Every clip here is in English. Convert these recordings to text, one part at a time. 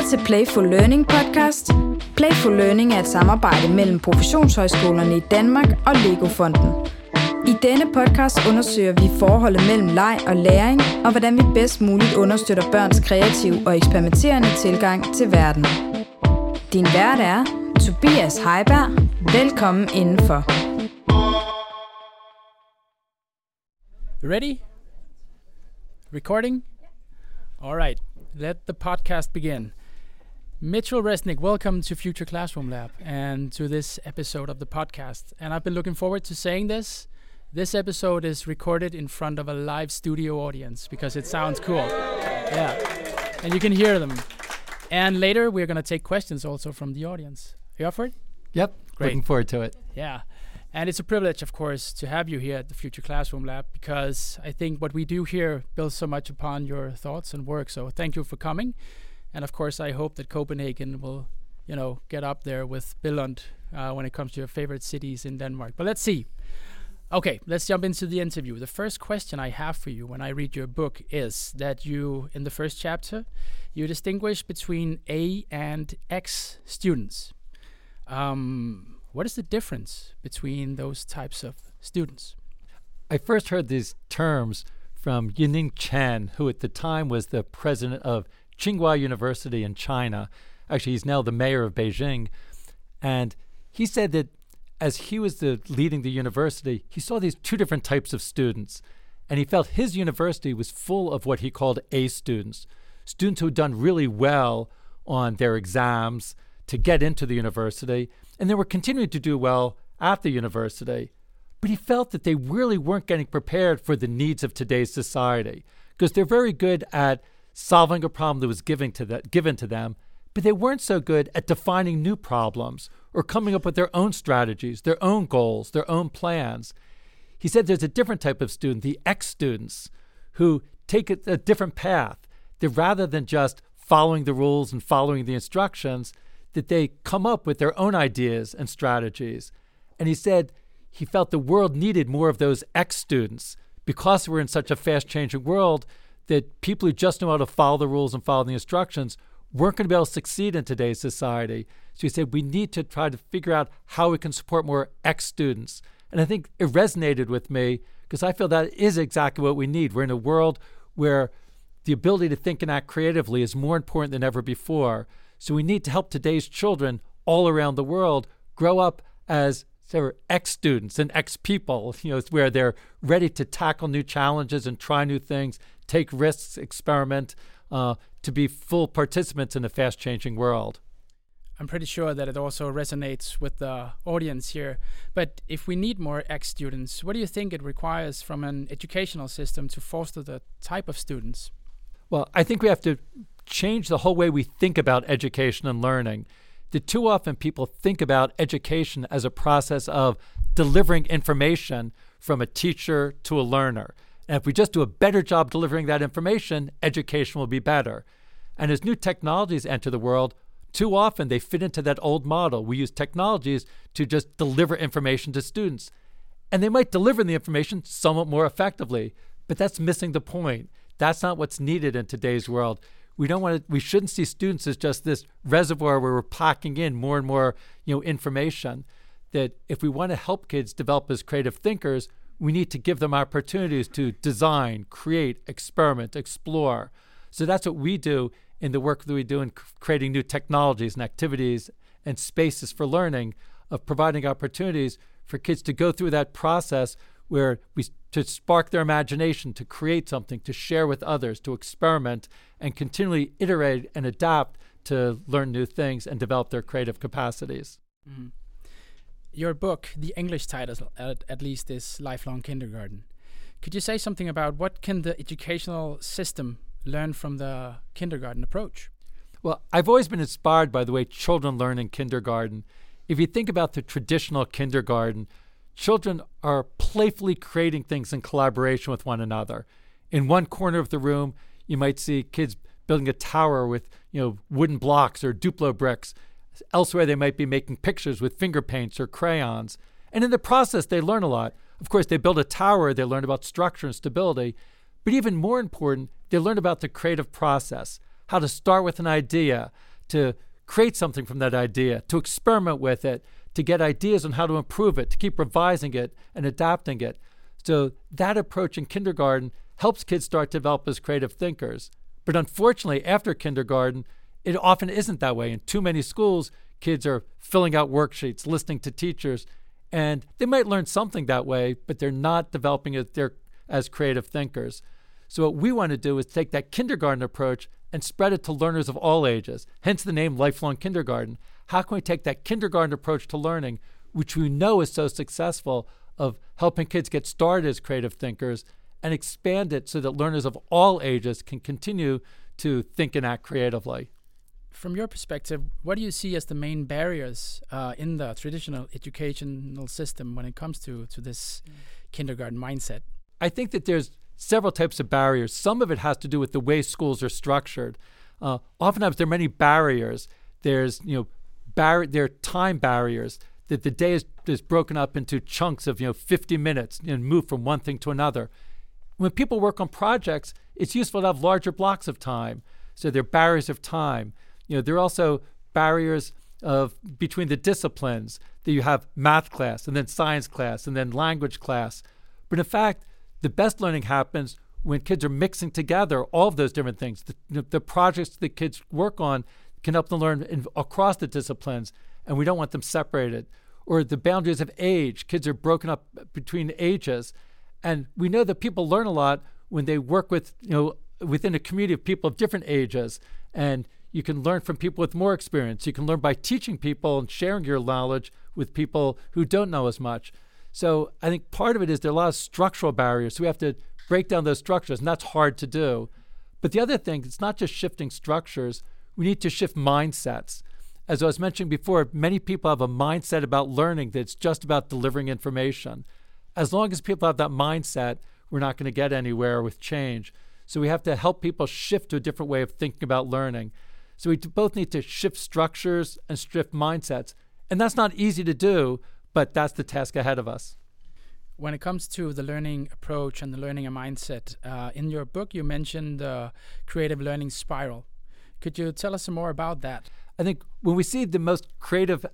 til Playful Learning podcast. Playful Learning er et samarbejde mellem professionshøjskolerne i Danmark og Lego-fonden. I denne podcast undersøger vi forholdet mellem leg og læring, og hvordan vi bedst muligt understøtter børns kreative og eksperimenterende tilgang til verden. Din vært er Tobias Heiberg. Velkommen indenfor. Ready? Recording? All right, let the podcast begin. Mitchell Resnick, welcome to Future Classroom Lab and to this episode of the podcast. And I've been looking forward to saying this. This episode is recorded in front of a live studio audience because it sounds cool. Yeah, and you can hear them. And later we're going to take questions also from the audience. Are you up for it? Yep, Great. Looking forward to it. Yeah. And it's a privilege, of course, to have you here at the Future Classroom Lab because I think what we do here builds so much upon your thoughts and work. So thank you for coming. And of course, I hope that Copenhagen will, get up there with Billund when it comes to your favorite cities in Denmark. But let's see. Okay, let's jump into the interview. The first question I have for you when I read your book is that you, in the first chapter, you distinguish between A and X students. What is the difference between those types of students? I first heard these terms from Yining Chen, who at the time was the president of Tsinghua University in China. Actually, he's now the mayor of Beijing. And he said that as he was leading the university, he saw these two different types of students. And he felt his university was full of what he called A students, students who had done really well on their exams to get into the university, and they were continuing to do well at the university. But he felt that they really weren't getting prepared for the needs of today's society because they're very good at solving a problem that was given to them, but they weren't so good at defining new problems or coming up with their own strategies, their own goals, their own plans. He said there's a different type of student, the X students, who take a different path. That rather than just following the rules and following the instructions, that they come up with their own ideas and strategies. And he said he felt the world needed more of those X students because we're in such a fast-changing world that people who just know how to follow the rules and follow the instructions weren't going to be able to succeed in today's society. So he said we need to try to figure out how we can support more X students. And I think it resonated with me because I feel that is exactly what we need. We're in a world where the ability to think and act creatively is more important than ever before. So we need to help today's children all around the world grow up as X students and X people, where they're ready to tackle new challenges and try new things, take risks, experiment, to be full participants in a fast-changing world. I'm pretty sure that it also resonates with the audience here. But if we need more X students, what do you think it requires from an educational system to foster the type of students? Well, I think we have to change the whole way we think about education and learning. That too often people think about education as a process of delivering information from a teacher to a learner. And if we just do a better job delivering that information, education will be better. And as new technologies enter the world, too often they fit into that old model. We use technologies to just deliver information to students. And they might deliver the information somewhat more effectively, but that's missing the point. That's not what's needed in today's world. We shouldn't see students as just this reservoir where we're packing in more and more, information. That if we want to help kids develop as creative thinkers, we need to give them opportunities to design, create, experiment, explore. So that's what we do in the work that we do in creating new technologies and activities and spaces for learning, of providing opportunities for kids to go through that process where to spark their imagination, to create something, to share with others, to experiment, and continually iterate and adapt to learn new things and develop their creative capacities. Mm-hmm. Your book, the English title at least, is Lifelong Kindergarten. Could you say something about what can the educational system learn from the kindergarten approach? Well, I've always been inspired by the way children learn in kindergarten. If you think about the traditional kindergarten, children are playfully creating things in collaboration with one another. In one corner of the room, you might see kids building a tower with, wooden blocks or Duplo bricks. Elsewhere, they might be making pictures with finger paints or crayons. And in the process, they learn a lot. Of course, they build a tower, they learn about structure and stability. But even more important, they learn about the creative process, how to start with an idea, to create something from that idea, to experiment with it, to get ideas on how to improve it, to keep revising it and adapting it. So that approach in kindergarten helps kids start to develop as creative thinkers. But unfortunately, after kindergarten, it often isn't that way. In too many schools, kids are filling out worksheets, listening to teachers, and they might learn something that way, but they're not developing it as creative thinkers. So what we want to do is take that kindergarten approach and spread it to learners of all ages, hence the name Lifelong Kindergarten. How can we take that kindergarten approach to learning, which we know is so successful, of helping kids get started as creative thinkers, and expand it so that learners of all ages can continue to think and act creatively? From your perspective, what do you see as the main barriers in the traditional educational system when it comes to this kindergarten mindset? I think that there's several types of barriers. Some of it has to do with the way schools are structured. Oftentimes there are many barriers. There's there are time barriers, that the day is broken up into chunks of 50 minutes and move from one thing to another. When people work on projects, it's useful to have larger blocks of time. So there are barriers of time. There are also barriers between the disciplines, that you have math class and then science class and then language class. But in fact, the best learning happens when kids are mixing together all of those different things. The projects that kids work on can help them learn across the disciplines, and we don't want them separated. Or the boundaries of age. Kids are broken up between ages. And we know that people learn a lot when they work with, within a community of people of different ages. And you can learn from people with more experience. You can learn by teaching people and sharing your knowledge with people who don't know as much. So I think part of it is there are a lot of structural barriers. So we have to break down those structures, and that's hard to do. But the other thing, it's not just shifting structures. We need to shift mindsets. As I was mentioning before, many people have a mindset about learning that's just about delivering information. As long as people have that mindset, we're not going to get anywhere with change. So we have to help people shift to a different way of thinking about learning. So we both need to shift structures and shift mindsets. And that's not easy to do, but that's the task ahead of us. When it comes to the learning approach and the learning mindset, in your book you mentioned the creative learning spiral. Could you tell us some more about that? I think when we see the most creative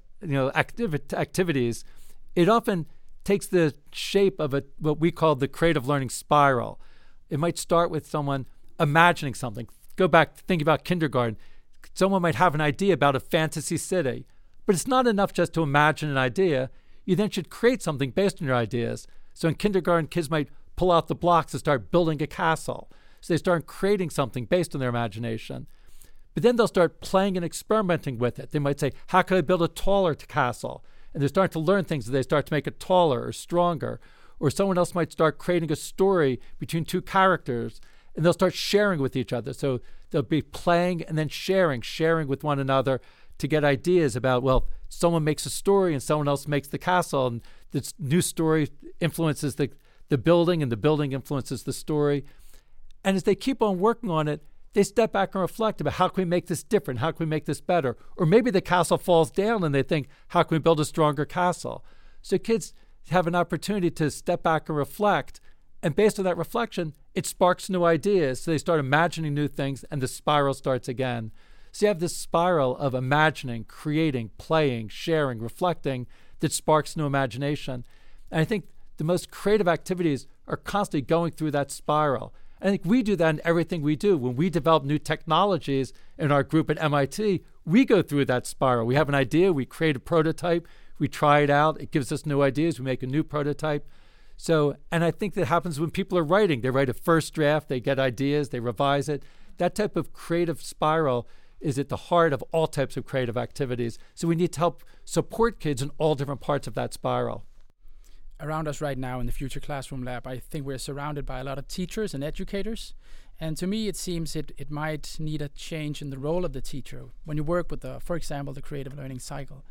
activities, it often takes the shape of what we call the creative learning spiral. It might start with someone imagining something. Go back, think about kindergarten. Someone might have an idea about a fantasy city, but it's not enough just to imagine an idea. You then should create something based on your ideas. So in kindergarten, kids might pull out the blocks and start building a castle. So they start creating something based on their imagination. But then they'll start playing and experimenting with it. They might say, how could I build a taller castle? And they're starting to learn things as they start to make it taller or stronger. Or someone else might start creating a story between two characters, and they'll start sharing with each other. So they'll be playing and then sharing with one another to get ideas about, well, someone makes a story and someone else makes the castle, and this new story influences the building, and the building influences the story. And as they keep on working on it, they step back and reflect about how can we make this different? How can we make this better? Or maybe the castle falls down and they think, how can we build a stronger castle? So kids have an opportunity to step back and reflect. And based on that reflection, it sparks new ideas. So they start imagining new things, and the spiral starts again. So you have this spiral of imagining, creating, playing, sharing, reflecting that sparks new imagination. And I think the most creative activities are constantly going through that spiral. I think we do that in everything we do. When we develop new technologies in our group at MIT, we go through that spiral. We have an idea, we create a prototype, we try it out, it gives us new ideas, we make a new prototype. So, and I think that happens when people are writing. They write a first draft, they get ideas, they revise it. That type of creative spiral is at the heart of all types of creative activities. So we need to help support kids in all different parts of that spiral. Around us right now in the Future Classroom Lab, I think we're surrounded by a lot of teachers and educators. And to me, it seems it might need a change in the role of the teacher when you work with, for example, the creative learning cycle.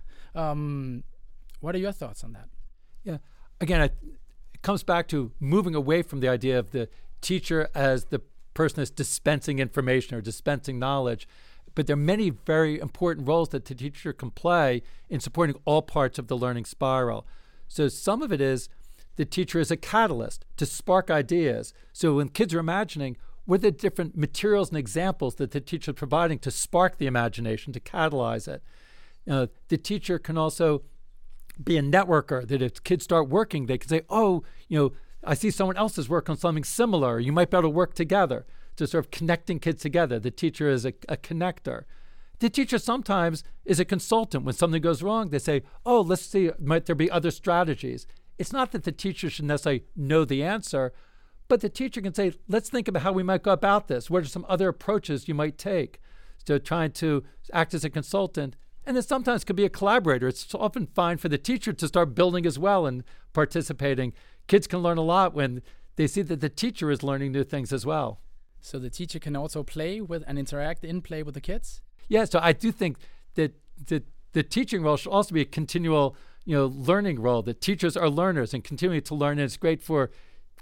What are your thoughts on that? Yeah, again, it comes back to moving away from the idea of the teacher as the person that's dispensing information or dispensing knowledge. But there are many very important roles that the teacher can play in supporting all parts of the learning spiral. So some of it is the teacher is a catalyst to spark ideas. So when kids are imagining, what are the different materials and examples that the teacher is providing to spark the imagination, to catalyze it. The teacher can also be a networker, that if kids start working, they can say, oh, I see someone else is working on something similar. You might be able to work together, to sort of connecting kids together. The teacher is a connector. The teacher sometimes is a consultant. When something goes wrong, they say, oh, let's see, might there be other strategies? It's not that the teacher should necessarily know the answer, but the teacher can say, let's think about how we might go about this. What are some other approaches you might take? So trying to act as a consultant. And it sometimes could be a collaborator. It's often fine for the teacher to start building as well and participating. Kids can learn a lot when they see that the teacher is learning new things as well. So the teacher can also play with and interact in play with the kids? Yeah, so I do think that the teaching role should also be a continual, learning role. That teachers are learners and continuing to learn. And it's great for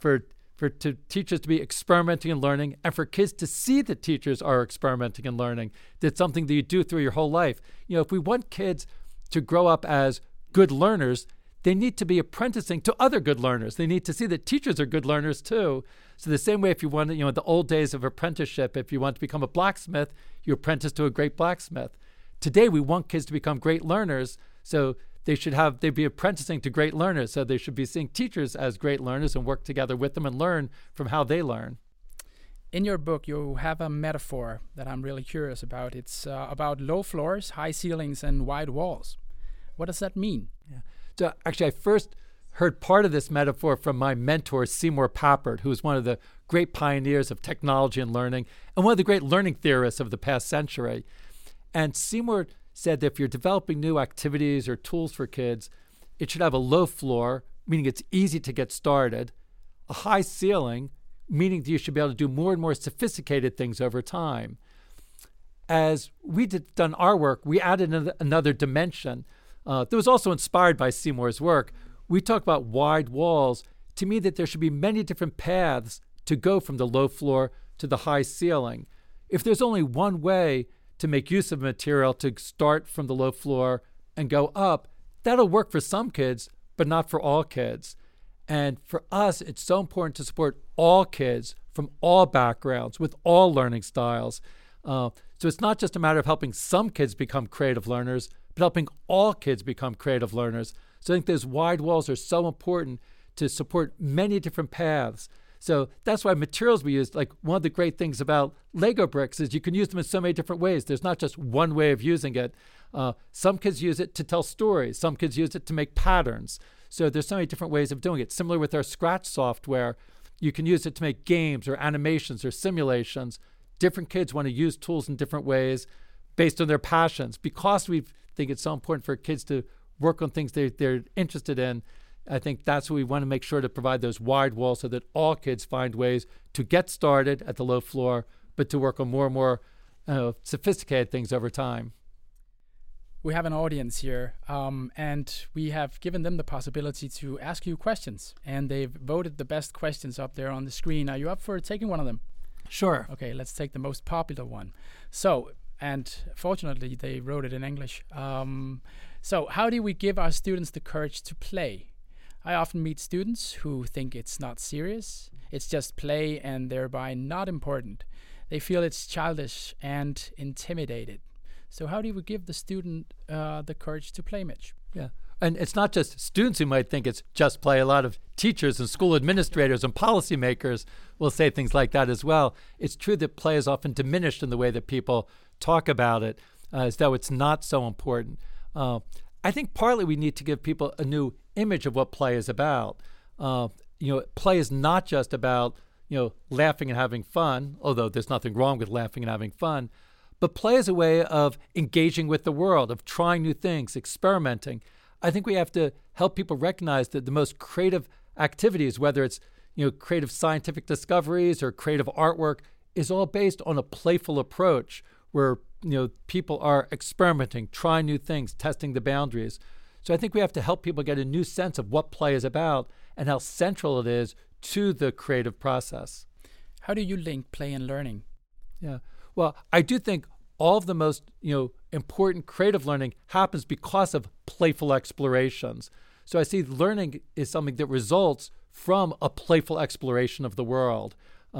teachers to be experimenting and learning, and for kids to see that teachers are experimenting and learning. That's something that you do through your whole life. If we want kids to grow up as good learners, they need to be apprenticing to other good learners. They need to see that teachers are good learners too. So the same way, if you want to, the old days of apprenticeship, if you want to become a blacksmith, you apprentice to a great blacksmith. Today, we want kids to become great learners, so they'd be apprenticing to great learners. So they should be seeing teachers as great learners and work together with them and learn from how they learn. In your book, you have a metaphor that I'm really curious about. It's about low floors, high ceilings, and wide walls. What does that mean? Yeah. So actually, I first heard part of this metaphor from my mentor, Seymour Papert, who was one of the great pioneers of technology and learning and one of the great learning theorists of the past century. And Seymour said that if you're developing new activities or tools for kids, it should have a low floor, meaning it's easy to get started, a high ceiling, meaning that you should be able to do more and more sophisticated things over time. As we done our work, we added another dimension that was also inspired by Seymour's work. We talk about wide walls to mean that there should be many different paths to go from the low floor to the high ceiling. If there's only one way to make use of material to start from the low floor and go up, that'll work for some kids, but not for all kids. And for us, it's so important to support all kids from all backgrounds with all learning styles. So it's not just a matter of helping some kids become creative learners, but helping all kids become creative learners. So I think those wide walls are so important to support many different paths. So that's why materials we use, like one of the great things about Lego bricks is you can use them in so many different ways. There's not just one way of using it. Some kids use it to tell stories. Some kids use it to make patterns. So there's so many different ways of doing it. Similar with our Scratch software, you can use it to make games or animations or simulations. Different kids want to use tools in different ways based on their passions. Because we think it's so important for kids to work on things they're interested in, I think that's what we want to make sure to provide those wide walls so that all kids find ways to get started at the low floor, but to work on more and more sophisticated things over time. We have an audience here, and we have given them the possibility to ask you questions, and they've voted the best questions up there on the screen. Are you up for taking one of them? Sure. Okay, let's take the most popular one. So, and fortunately, they wrote it in English. So, how do we give our students the courage to play? I often meet students who think it's not serious, it's just play and thereby not important. They feel it's childish and intimidated. So how do we give the student the courage to play, Mitch? Yeah, and it's not just students who might think it's just play. A lot of teachers and school administrators and policymakers will say things like that as well. It's true that play is often diminished in the way that people talk about it, as though it's not so important. I think partly we need to give people a new image of what play is about. Play is not just about, laughing and having fun, although there's nothing wrong with laughing and having fun, but play is a way of engaging with the world, of trying new things, experimenting. I think we have to help people recognize that the most creative activities, whether it's, creative scientific discoveries or creative artwork, is all based on a playful approach where, people are experimenting, trying new things, testing the boundaries. So I think we have to help people get a new sense of what play is about and how central it is to the creative process. How do you link play and learning? Yeah. Well, I do think all of the most, important creative learning happens because of playful explorations. So I see learning is something that results from a playful exploration of the world.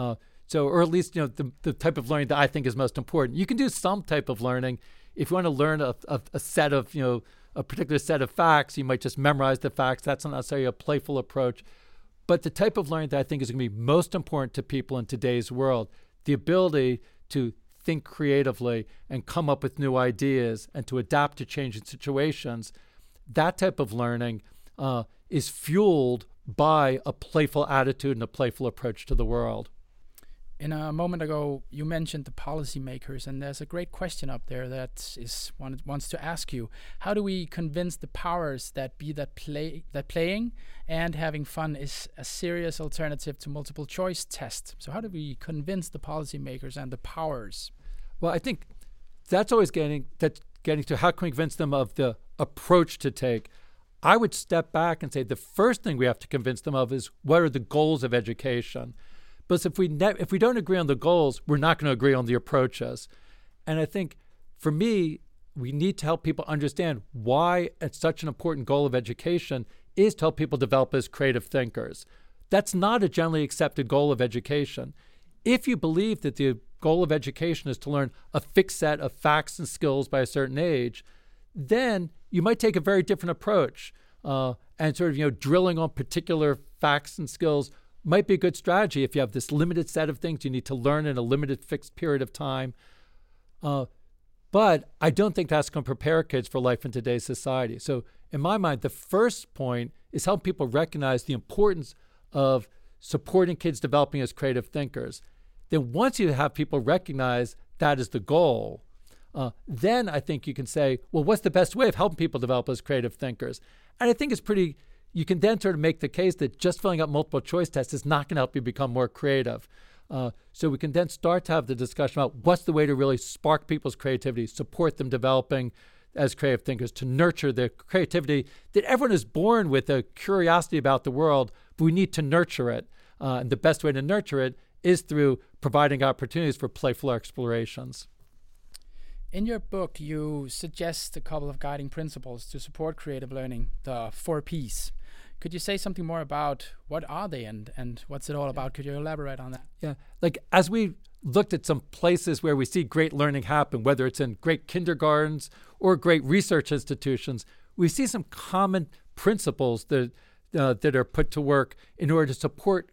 So, or at least, the type of learning that I think is most important. You can do some type of learning. If you want to learn a set of, a particular set of facts, you might just memorize the facts. That's not necessarily a playful approach. But the type of learning that I think is going to be most important to people in today's world, the ability to think creatively and come up with new ideas and to adapt to changing situations, that type of learning is fueled by a playful attitude and a playful approach to the world. In a moment ago, you mentioned the policymakers, and there's a great question up there that wants to ask you: how do we convince the powers that playing and having fun is a serious alternative to multiple choice tests? So how do we convince the policymakers and the powers? Well, I think that's always getting to how can we convince them of the approach to take. I would step back and say the first thing we have to convince them of is what are the goals of education. But if we don't agree on the goals, we're not going to agree on the approaches. And I think, for me, we need to help people understand why it's such an important goal of education is to help people develop as creative thinkers. That's not a generally accepted goal of education. If you believe that the goal of education is to learn a fixed set of facts and skills by a certain age, then you might take a very different approach. And sort of, drilling on particular facts and skills might be a good strategy if you have this limited set of things you need to learn in a limited fixed period of time. But I don't think that's going to prepare kids for life in today's society. So in my mind, the first point is help people recognize the importance of supporting kids developing as creative thinkers. Then once you have people recognize that is the goal, then I think you can say, well, what's the best way of helping people develop as creative thinkers? And I think you can then sort of make the case that just filling out multiple choice tests is not going to help you become more creative. So we can then start to have the discussion about what's the way to really spark people's creativity, support them developing as creative thinkers, to nurture their creativity that everyone is born with a curiosity about the world, but we need to nurture it. And the best way to nurture it is through providing opportunities for playful explorations. In your book, you suggest a couple of guiding principles to support creative learning, the 4 Ps. Could you say something more about what are they and what's it all about? Could you elaborate on that? Yeah, like as we looked at some places where we see great learning happen, whether it's in great kindergartens or great research institutions, we see some common principles that are put to work in order to support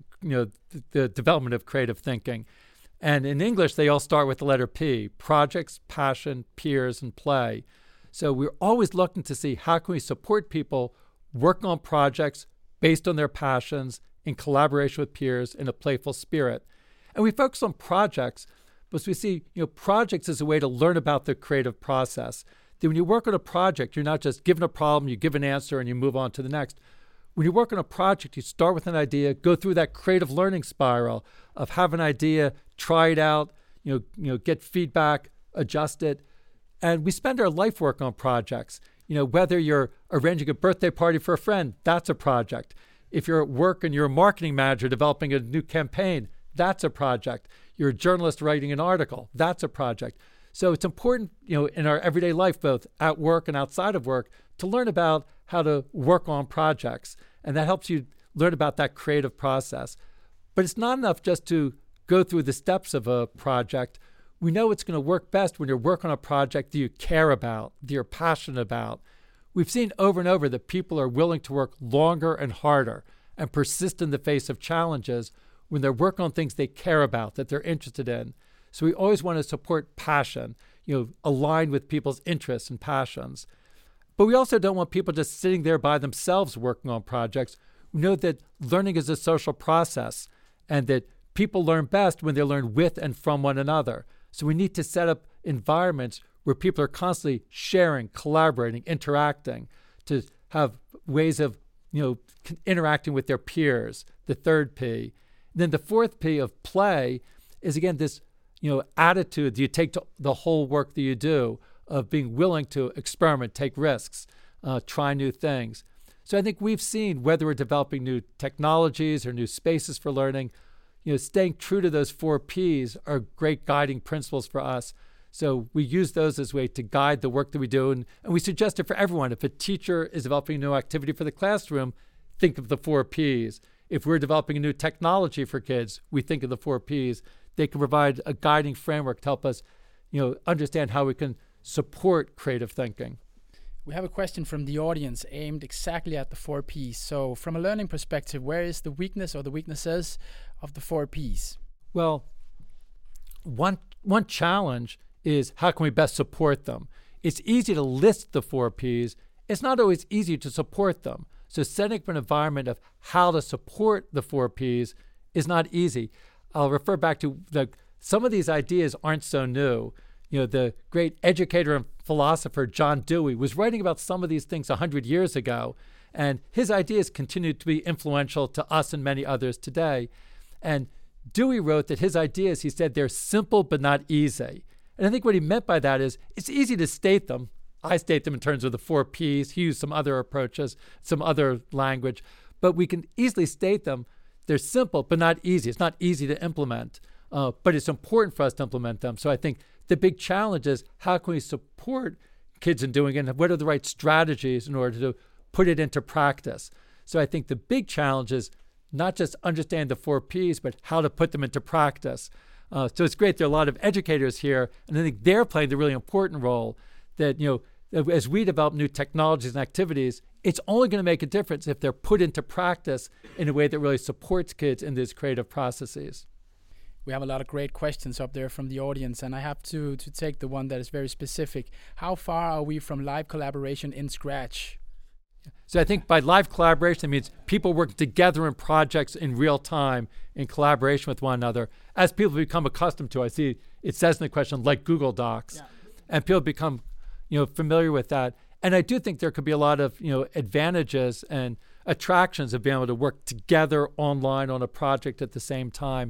the development of creative thinking. And in English, they all start with the letter P: projects, passion, peers, and play. So we're always looking to see how can we support people working on projects based on their passions in collaboration with peers in a playful spirit. And we focus on projects because we see, projects as a way to learn about the creative process. That when you work on a project, you're not just given a problem, you give an answer, and you move on to the next. When you work on a project, you start with an idea, go through that creative learning spiral of have an idea, try it out, get feedback, adjust it. And we spend our life working on projects. Whether you're arranging a birthday party for a friend, that's a project. If you're at work and you're a marketing manager developing a new campaign, that's a project. You're a journalist writing an article, that's a project. So it's important, in our everyday life, both at work and outside of work, to learn about how to work on projects. And that helps you learn about that creative process. But it's not enough just to go through the steps of a project. We know it's going to work best when you're working on a project that you care about, that you're passionate about. We've seen over and over that people are willing to work longer and harder and persist in the face of challenges when they're working on things they care about, that they're interested in. So we always want to support passion, align with people's interests and passions. But we also don't want people just sitting there by themselves working on projects. We know that learning is a social process and that people learn best when they learn with and from one another. So we need to set up environments where people are constantly sharing, collaborating, interacting, to have ways of, interacting with their peers, the 3rd P. And then the 4th P of play is, again, this, attitude that you take to the whole work that you do, of being willing to experiment, take risks, try new things. So I think we've seen, whether we're developing new technologies or new spaces for learning, staying true to those 4 Ps are great guiding principles for us. So we use those as a way to guide the work that we do. And we suggest it for everyone. If a teacher is developing a new activity for the classroom, think of the 4 Ps. If we're developing a new technology for kids, we think of the 4 Ps. they can provide a guiding framework to help us, understand how we can support creative thinking. We have a question from the audience aimed exactly at the 4 Ps. So from a learning perspective, where is the weakness or the weaknesses of the 4 Ps? Well, one challenge is how can we best support them? It's easy to list the 4 Ps. It's not always easy to support them. So setting up an environment of how to support the 4 Ps is not easy. I'll refer back to some of these ideas aren't so new. The great educator and philosopher John Dewey was writing about some of these things 100 years ago, and his ideas continue to be influential to us and many others today. And Dewey wrote that his ideas, he said, they're simple but not easy. And I think what he meant by that is it's easy to state them. I state them in terms of the 4 Ps. He used some other approaches, some other language, but we can easily state them. They're simple but not easy. It's not easy to implement, but it's important for us to implement them. So I think the big challenge is how can we support kids in doing it, and what are the right strategies in order to put it into practice? So I think the big challenge is not just understand the 4 Ps, but how to put them into practice. So it's great there are a lot of educators here, and I think they're playing the really important role that, as we develop new technologies and activities, it's only going to make a difference if they're put into practice in a way that really supports kids in these creative processes. We have a lot of great questions up there from the audience, and I have to take the one that is very specific. How far are we from live collaboration in Scratch? So I think by live collaboration, it means people working together in projects in real time in collaboration with one another. As people become accustomed to, I see it says in the question, like Google Docs, and people become familiar with that. And I do think there could be a lot of advantages and attractions of being able to work together online on a project at the same time.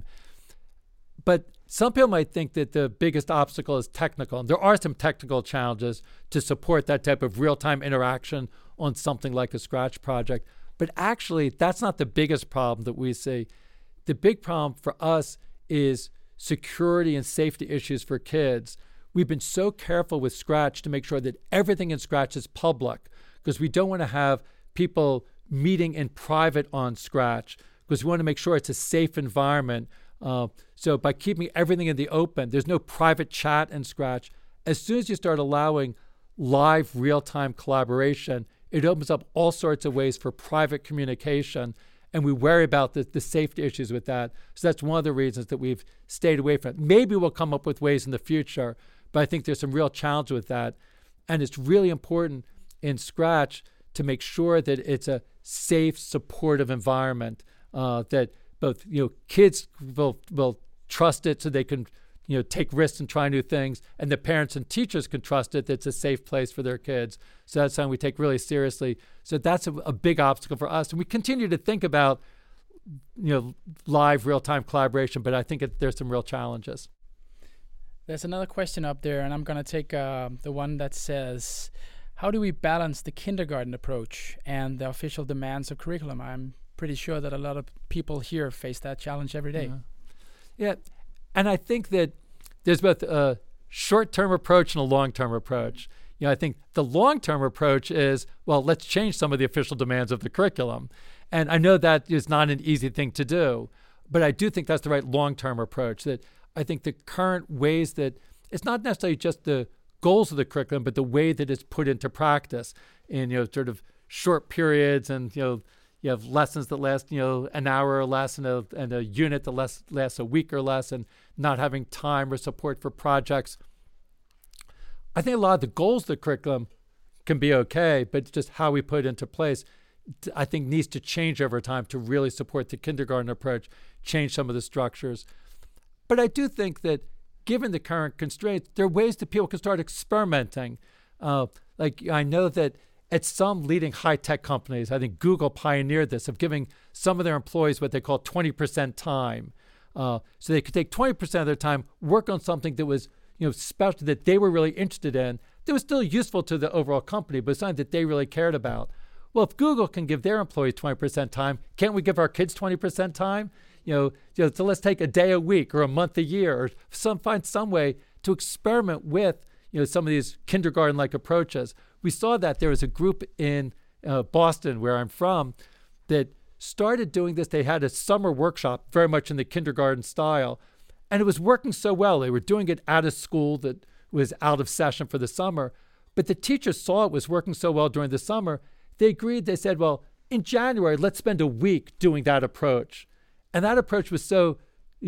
But some people might think that the biggest obstacle is technical. And there are some technical challenges to support that type of real-time interaction on something like a Scratch project. But actually, that's not the biggest problem that we see. The big problem for us is security and safety issues for kids. We've been so careful with Scratch to make sure that everything in Scratch is public, because we don't want to have people meeting in private on Scratch, because we want to make sure it's a safe environment. So by keeping everything in the open, there's no private chat in Scratch. As soon as you start allowing live real-time collaboration, it opens up all sorts of ways for private communication, and we worry about the safety issues with that. So that's one of the reasons that we've stayed away from it. Maybe we'll come up with ways in the future, but I think there's some real challenge with that. And it's really important in Scratch to make sure that it's a safe, supportive environment, that both kids will trust it so they can take risks and try new things, and the parents and teachers can trust it that it's a safe place for their kids. So that's something we take really seriously. So that's a big obstacle for us. And we continue to think about live real-time collaboration, but I think there's some real challenges. There's another question up there, and I'm going to take the one that says, how do we balance the kindergarten approach and the official demands of curriculum? I'm pretty sure that a lot of people here face that challenge every day. Yeah. And I think that there's both a short-term approach and a long-term approach. I think the long-term approach is, well, let's change some of the official demands of the curriculum. And I know that is not an easy thing to do, but I do think that's the right long-term approach. That I think the current ways that it's not necessarily just the goals of the curriculum, but the way that it's put into practice in sort of short periods, and you have lessons that last an hour or less, and a unit that lasts a week or less, and not having time or support for projects. I think a lot of the goals of the curriculum can be okay, but just how we put it into place, I think, needs to change over time to really support the kindergarten approach, change some of the structures. But I do think that given the current constraints, there are ways that people can start experimenting. Like I know that at some leading high-tech companies, I think Google pioneered this, of giving some of their employees what they call 20% time. So they could take 20% of their time, work on something that was special, that they were really interested in, that was still useful to the overall company, but something that they really cared about. Well, if Google can give their employees 20% time, can't we give our kids 20% time? So let's take a day a week or a month a year, or find some way to experiment with some of these kindergarten-like approaches. We saw that there was a group in Boston, where I'm from, that started doing this. They had a summer workshop very much in the kindergarten style, And it was working so well. They were doing it at a school that was out of session for the summer. But the teachers saw it was working so well during the summer. They agreed. They said, well, in January, let's spend a week doing that approach. And that approach was so,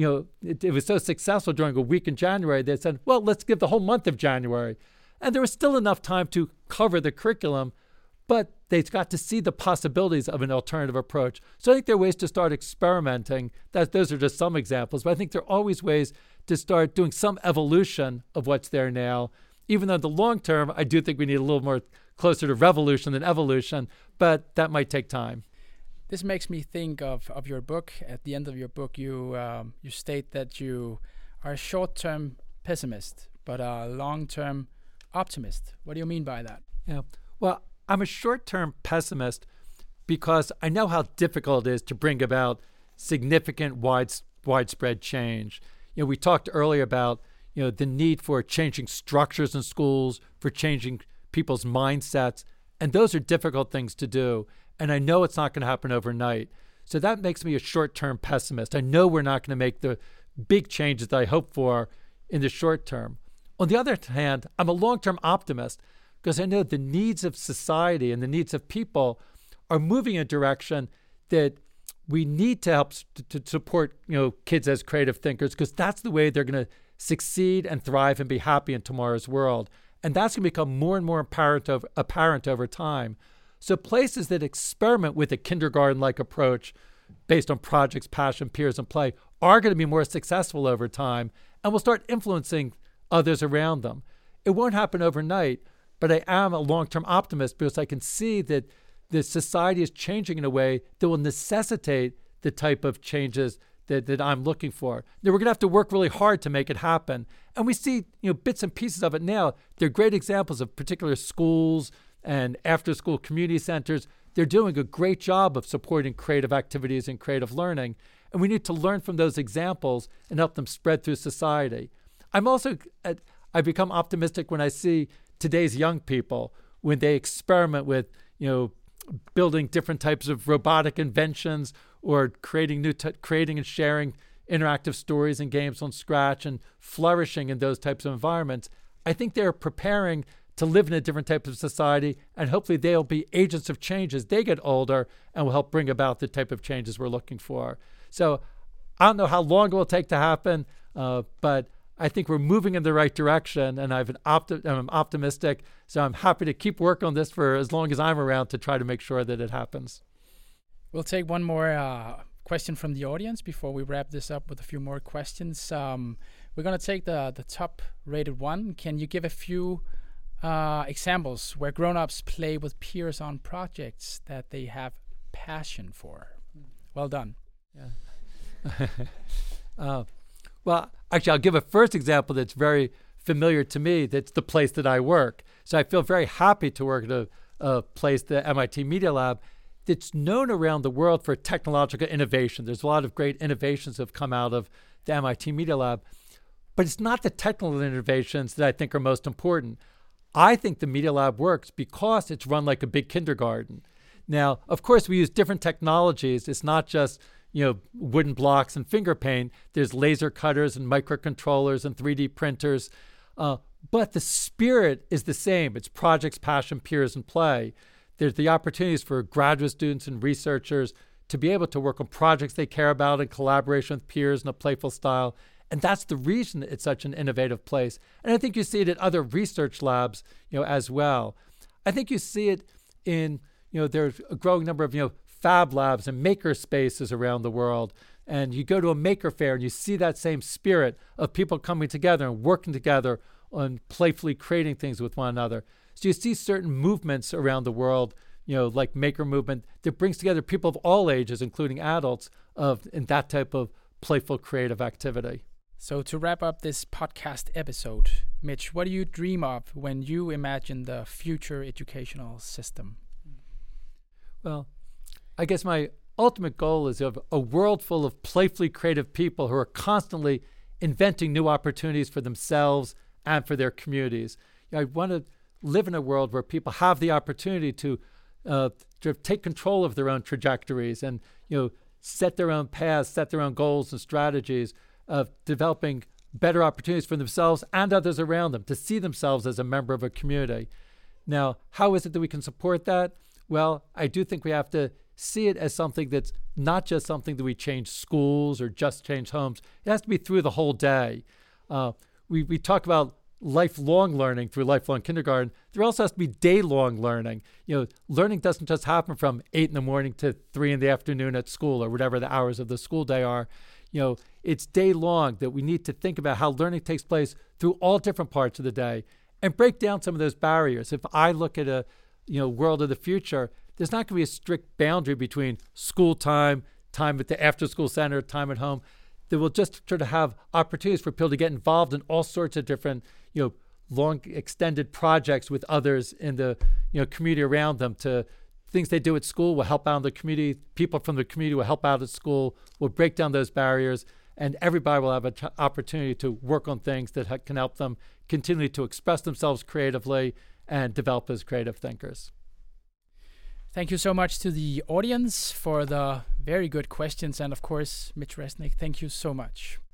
it was so successful during a week in January. They said, well, let's give the whole month of January. And there was still enough time to cover the curriculum, but they got to see the possibilities of an alternative approach. So I think there are ways to start experimenting. Those are just some examples, but I think there are always ways to start doing some evolution of what's there now. Even though in the long term, I do think we need a little more closer to revolution than evolution, but that might take time. This makes me think of your book. At the end of your book, you state that you are a short-term pessimist, but a long-term optimist. What do you mean by that? Yeah. Well, I'm a short-term pessimist because I know how difficult it is to bring about significant widespread change. We talked earlier about the need for changing structures in schools, for changing people's mindsets, and those are difficult things to do. And I know it's not going to happen overnight. So that makes me a short-term pessimist. I know we're not going to make the big changes that I hope for in the short term. On the other hand, I'm a long-term optimist because I know the needs of society and the needs of people are moving in a direction that we need to help to support kids as creative thinkers, because that's the way they're going to succeed and thrive and be happy in tomorrow's world. And that's going to become more and more apparent over time. So places that experiment with a kindergarten-like approach based on projects, passion, peers, and play are going to be more successful over time and will start influencing others around them. It won't happen overnight, but I am a long-term optimist because I can see that the society is changing in a way that will necessitate the type of changes that I'm looking for. Now, we're going to have to work really hard to make it happen. And we see bits and pieces of it now. They're great examples of particular schools and after-school community centers. They're doing a great job of supporting creative activities and creative learning. And we need to learn from those examples and help them spread through society. I become optimistic when I see today's young people, when they experiment with, building different types of robotic inventions or creating and sharing interactive stories and games on Scratch and flourishing in those types of environments. I think they're preparing to live in a different type of society, and hopefully they'll be agents of change as they get older and will help bring about the type of changes we're looking for. So I don't know how long it will take to happen, but I think we're moving in the right direction, and I'm optimistic. So I'm happy to keep working on this for as long as I'm around to try to make sure that it happens. We'll take one more question from the audience before we wrap this up with a few more questions. We're going to take the top-rated one. Can you give a few examples where grown-ups play with peers on projects that they have passion for? Well done. Yeah. Well, actually, I'll give a first example that's very familiar to me. That's the place that I work. So I feel very happy to work at a place, the MIT Media Lab, that's known around the world for technological innovation. There's a lot of great innovations that have come out of the MIT Media Lab. But it's not the technical innovations that I think are most important. I think the Media Lab works because it's run like a big kindergarten. Now, of course, we use different technologies. It's not just wooden blocks and finger paint. There's laser cutters and microcontrollers and 3D printers. But the spirit is the same. It's projects, passion, peers, and play. There's the opportunities for graduate students and researchers to be able to work on projects they care about in collaboration with peers in a playful style. And that's the reason it's such an innovative place. And I think you see it at other research labs, as well. I think you see it in, there's a growing number of, fab labs and maker spaces around the world. And you go to a maker fair and you see that same spirit of people coming together and working together on playfully creating things with one another. So you see certain movements around the world, like maker movement, that brings together people of all ages, including adults, in that type of playful creative activity. So to wrap up this podcast episode, Mitch, what do you dream of when you imagine the future educational system? Well, I guess my ultimate goal is of a world full of playfully creative people who are constantly inventing new opportunities for themselves and for their communities. I want to live in a world where people have the opportunity to take control of their own trajectories and set their own paths, set their own goals and strategies, of developing better opportunities for themselves and others around them to see themselves as a member of a community. Now, how is it that we can support that? Well, I do think we have to see it as something that's not just something that we change schools or just change homes. It has to be through the whole day. We talk about lifelong learning through lifelong kindergarten. There also has to be day-long learning. Learning doesn't just happen from 8 a.m. to 3 p.m. at school or whatever the hours of the school day are. It's day-long that we need to think about how learning takes place through all different parts of the day and break down some of those barriers. If I look at a world of the future, there's not going to be a strict boundary between school time at the after-school center, time at home. That will just sort of have opportunities for people to get involved in all sorts of different, long extended projects with others in the, community around them. To things they do at school will help out in the community. People from the community will help out at school. Will break down those barriers, and everybody will have an opportunity to work on things that can help them continue to express themselves creatively and develop as creative thinkers. Thank you so much to the audience for the very good questions. And of course, Mitch Resnick, thank you so much.